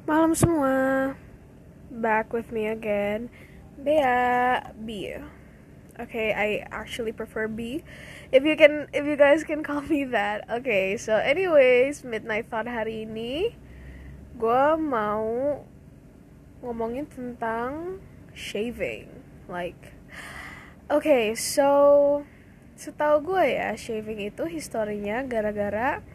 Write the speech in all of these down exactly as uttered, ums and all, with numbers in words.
Malam semua, back with me again, Bea B. Okay, I actually prefer B. If you can, if you guys can call me that. Okay, so anyways, midnight thought hari ini, gue mau ngomongin tentang shaving. Like, okay, so setahu gue ya, shaving itu historinya gara-gara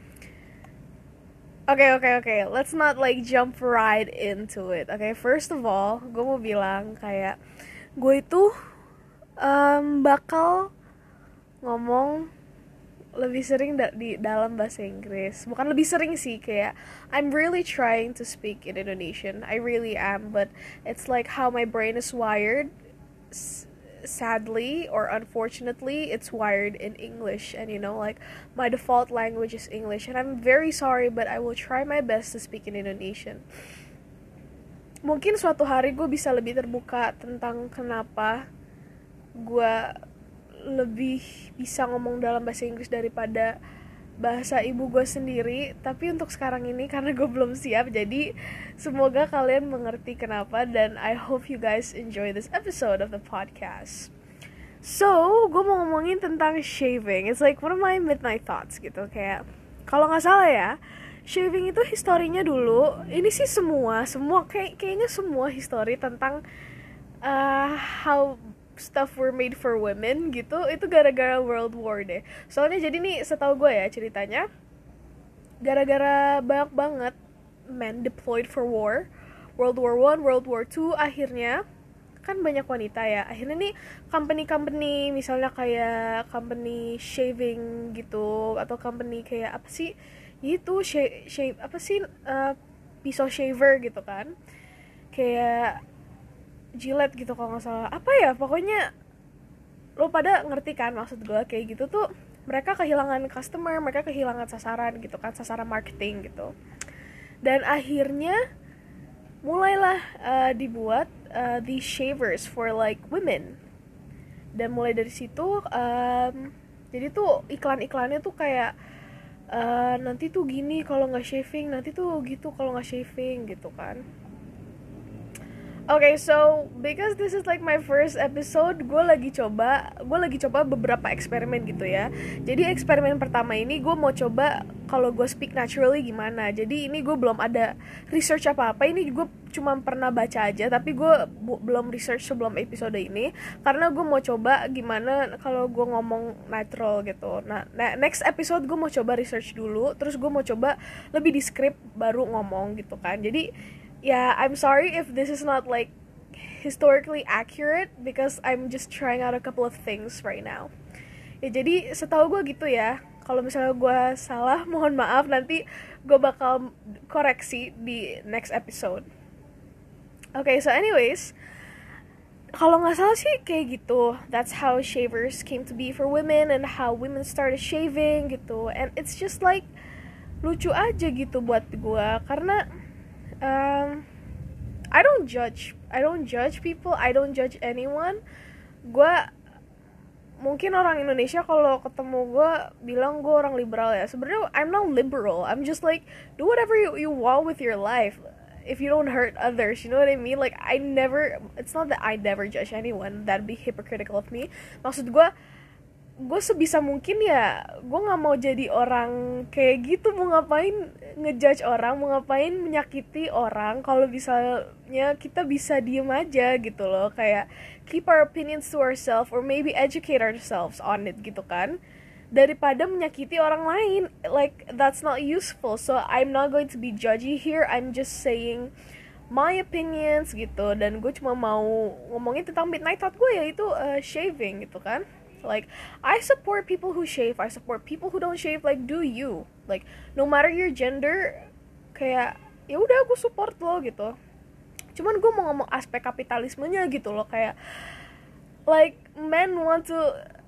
Okay, okay, okay. Let's not like jump right into it. Okay, first of all, gue mau bilang kayak gue itu um, bakal ngomong lebih sering da- di dalam bahasa Inggris. Bukan lebih sering sih, kayak I'm really trying to speak in Indonesian. I really am, but it's like how my brain is wired. S- sadly or unfortunately, it's wired in English, and you know, like my default language is English, and I'm very sorry, but I will try my best to speak in Indonesian. Mungkin suatu hari gue bisa lebih terbuka tentang kenapa gue lebih bisa ngomong dalam bahasa Inggris daripada bahasa ibu gue sendiri. Tapi untuk sekarang ini karena gue belum siap, jadi semoga kalian mengerti kenapa. Dan I hope you guys enjoy this episode of the podcast. So, gue mau ngomongin tentang shaving. It's like one of my midnight thoughts gitu. Kayak, kalau gak salah ya, shaving itu historinya dulu. Ini sih semua, semua kayak kayaknya semua histori tentang uh, how stuff were made for women gitu, itu gara-gara World War deh. Soalnya jadi nih, setahu gue ya ceritanya, gara-gara banyak banget men deployed for war, World War One, World War Two, akhirnya kan banyak wanita ya. Akhirnya nih company-company, misalnya kayak company shaving gitu, atau company kayak apa sih? Itu shave, shave apa sih? Uh, pisau shaver gitu kan. Kayak Gillette gitu kalau nggak salah. Apa ya? Pokoknya lo pada ngerti kan maksud gue. Kayak gitu tuh mereka kehilangan customer, mereka kehilangan sasaran gitu kan, sasaran marketing gitu. Dan akhirnya mulailah uh, dibuat uh, these shavers for like women. Dan mulai dari situ um, jadi tuh iklan-iklannya tuh kayak uh, nanti tuh gini kalau nggak shaving, nanti tuh gitu kalau nggak shaving gitu kan. Okay, so because this is like my first episode, gue lagi coba, gue lagi coba beberapa eksperimen gitu ya. Jadi eksperimen pertama ini gue mau coba kalau gue speak naturally gimana. Jadi ini gue belum ada research apa-apa. Ini gue cuma pernah baca aja, tapi gue bu- belum research sebelum episode ini karena gue mau coba gimana kalau gue ngomong natural gitu. Nah, next episode gue mau coba research dulu, terus gue mau coba lebih di script baru ngomong gitu kan. Jadi yeah, I'm sorry if this is not like historically accurate because I'm just trying out a couple of things right now. Ya jadi setahu gue gitu ya. Kalau misalnya gue salah, mohon maaf, nanti gue bakal koreksi di next episode. Okay, so anyways, kalau nggak salah sih kayak gitu. That's how shavers came to be for women and how women started shaving gitu. And it's just like lucu aja gitu buat gue karena um, I don't judge I don't judge people, I don't judge anyone. Gue mungkin orang Indonesia kalau ketemu gue bilang gue orang liberal ya. Sebenarnya I'm not liberal, I'm just like do whatever you, you want with your life if you don't hurt others, you know what I mean? Like I never, it's not that I never judge anyone, that'd be hypocritical of me. Maksud gue gue sebisa mungkin ya gue nggak mau jadi orang kayak gitu. Mau ngapain ngejudge orang, mau ngapain menyakiti orang kalau misalnya kita bisa diem aja gitu loh. Kayak keep our opinions to ourselves or maybe educate ourselves on it gitu kan, daripada menyakiti orang lain. Like that's not useful. So I'm not going to be judgy here, I'm just saying my opinions gitu. Dan gue cuma mau ngomongin tentang midnight thought gue, yaitu uh, shaving gitu kan. Like I support people who shave, I support people who don't shave. Like do you, like no matter your gender, kayak ya udah gue support lo gitu. Cuman gue mau ngomong aspek kapitalismenya gitu loh. Kayak like men want to,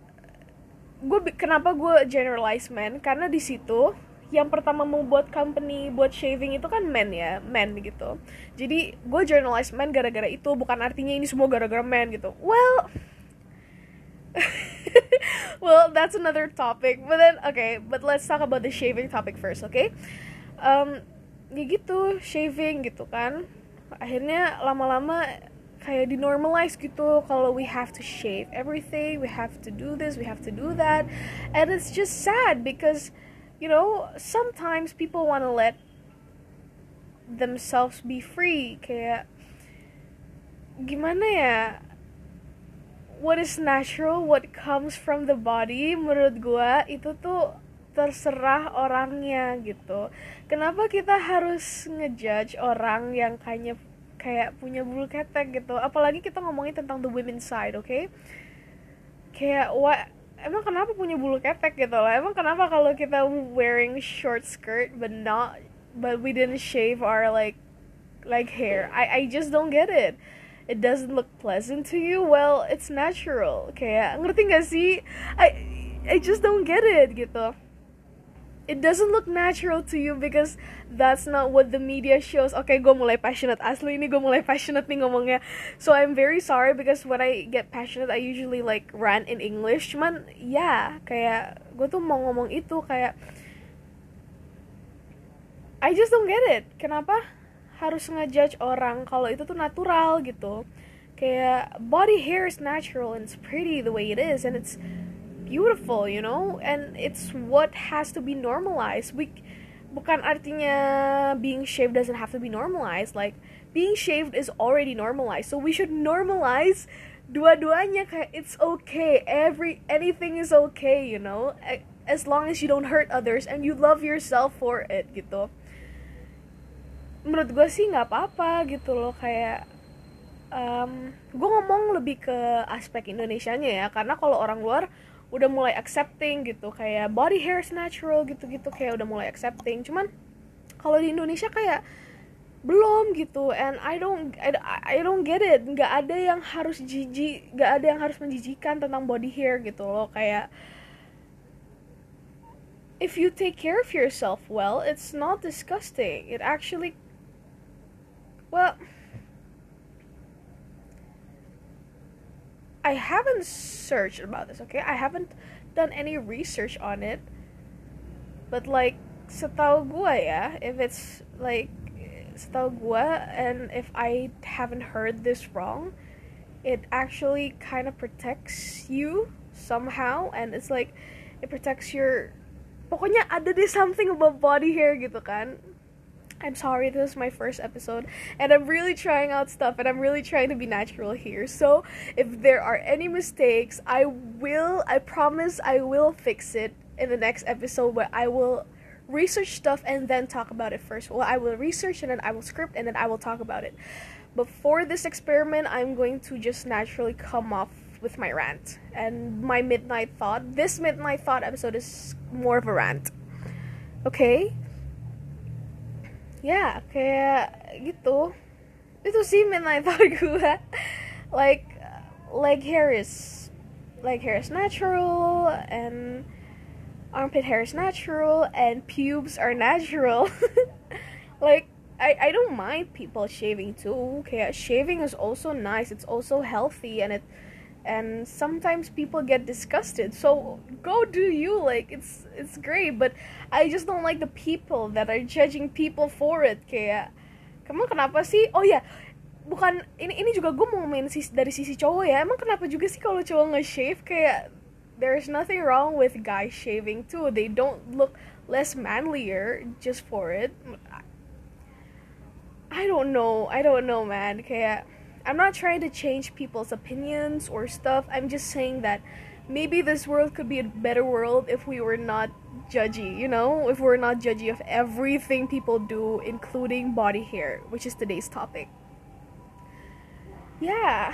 gue kenapa gue generalize men karena di situ yang pertama mau buat company buat shaving itu kan men ya, men gitu. Jadi gue generalize men gara-gara itu, bukan artinya ini semua gara-gara men gitu. Well well, that's another topic. But then, okay, but let's talk about the shaving topic first, okay? Um, ya gitu, shaving gitu kan. Akhirnya lama-lama kayak dinormalize gitu kalau we have to shave everything, we have to do this, we have to do that. And it's just sad because, you know, sometimes people want to let themselves be free. Kayak gimana ya, what is natural, what comes from the body, menurut gua itu tuh terserah orangnya gitu. Kenapa kita harus ngejudge orang yang kayaknya kayak punya bulu ketek gitu? Apalagi kita ngomongin tentang the women's side, oke? Okay? Kayak what? Emang kenapa punya bulu ketek gitu loh? Emang kenapa kalau kita wearing short skirt but not, but we didn't shave our like like hair? I I just don't get it. It doesn't look pleasant to you. Well, it's natural. Kayak ngerti gak sih? I I just don't get it gitu. It doesn't look natural to you because that's not what the media shows. Oke, okay, gue mulai passionate. Asli ini gue mulai passionate nih ngomongnya. So I'm very sorry because when I get passionate, I usually like rant in English. Cuman ya, yeah, kayak gue tuh mau ngomong itu kayak I just don't get it. Kenapa harus ngejudge orang kalau itu tuh natural gitu? Kayak body hair is natural and it's pretty the way it is and it's beautiful, you know, and it's what has to be normalized. We bukan artinya being shaved doesn't have to be normalized. Like being shaved is already normalized, so we should normalize dua-duanya. Kayak it's okay, every anything is okay, you know, as long as you don't hurt others and you love yourself for it gitu. Menurut gue sih nggak apa-apa gitu loh. Kayak um, gue ngomong lebih ke aspek Indonesianya ya, karena kalau orang luar udah mulai accepting gitu, kayak body hair is natural gitu-gitu, kayak udah mulai accepting. Cuman kalau di Indonesia kayak belum gitu, and I don't I, I don't get it. Nggak ada yang harus jijik, nggak ada yang harus menjijikan tentang body hair gitu loh. Kayak if you take care of yourself well, it's not disgusting. It actually, well, I haven't searched about this, okay? I haven't done any research on it. But like, setahu gua ya, if it's like, setahu gua, and if I haven't heard this wrong, it actually kind of protects you somehow, and it's like, it protects your, pokoknya ada deh something about body hair gitu kan. I'm sorry, this is my first episode, and I'm really trying out stuff, and I'm really trying to be natural here. So, if there are any mistakes, I will, I promise I will fix it in the next episode where I will research stuff and then talk about it first. Well, I will research and then I will script and then I will talk about it. But for this experiment, I'm going to just naturally come off with my rant. And my midnight thought, this midnight thought episode is more of a rant. Okay? Ya, yeah, kayak gitu. Itu sih midnight thought gue. Like, leg hair is, leg hair is natural, and armpit hair is natural, and pubes are natural. Like, I, I don't mind people shaving too. Kayak shaving is also nice. It's also healthy, and it, and sometimes people get disgusted, so go do you, like it's it's great, but I just don't like the people that are judging people for it. Kayak kamu kenapa sih? Oh ya, yeah, bukan ini ini juga gue mau ngomongin sisi, dari sisi cowok ya. Emang kenapa juga sih kalau cowok nge-shave? Kayak there's nothing wrong with guys shaving too. They don't look less manlier just for it. I don't know. I don't know, man. Kayak I'm not trying to change people's opinions or stuff. I'm just saying that maybe this world could be a better world if we were not judgy, you know? If we're not judgy of everything people do, including body hair, which is today's topic. Yeah.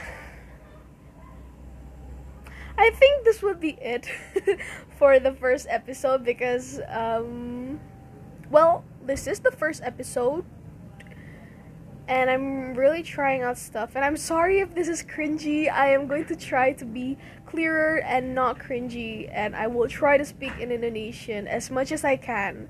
I think this would be it for the first episode because, um, well, this is the first episode. And I'm really trying out stuff. And I'm sorry if this is cringy. I am going to try to be clearer and not cringy. And I will try to speak in Indonesian as much as I can.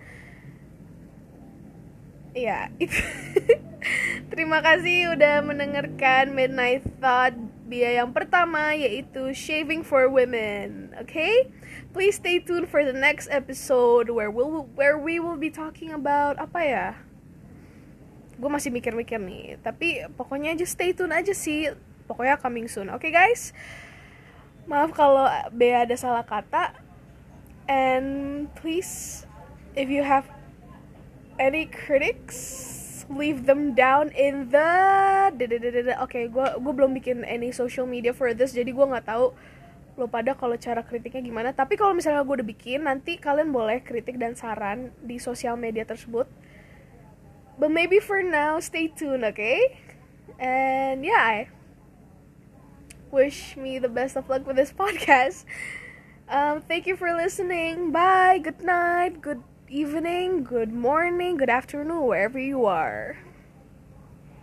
Ya, yeah. Terima kasih udah mendengarkan Midnight Thought dia yang pertama, yaitu Shaving for Women. Okay? Please stay tuned for the next episode where we'll where we will be talking about apa ya? gue masih mikir-mikir nih, tapi pokoknya just stay tune aja sih, pokoknya coming soon. Oke okay, guys, maaf kalau Bea ada salah kata, and please if you have any critics, leave them down in the oke okay, gue gue belum bikin any social media for this, jadi gue nggak tahu lo pada kalau cara kritiknya gimana. Tapi kalau misalnya gue udah bikin, nanti kalian boleh kritik dan saran di sosial media tersebut. But maybe for now, stay tuned, okay? And yeah, I wish me the best of luck with this podcast. Um, thank you for listening. Bye. Good night. Good evening. Good morning. Good afternoon, wherever you are.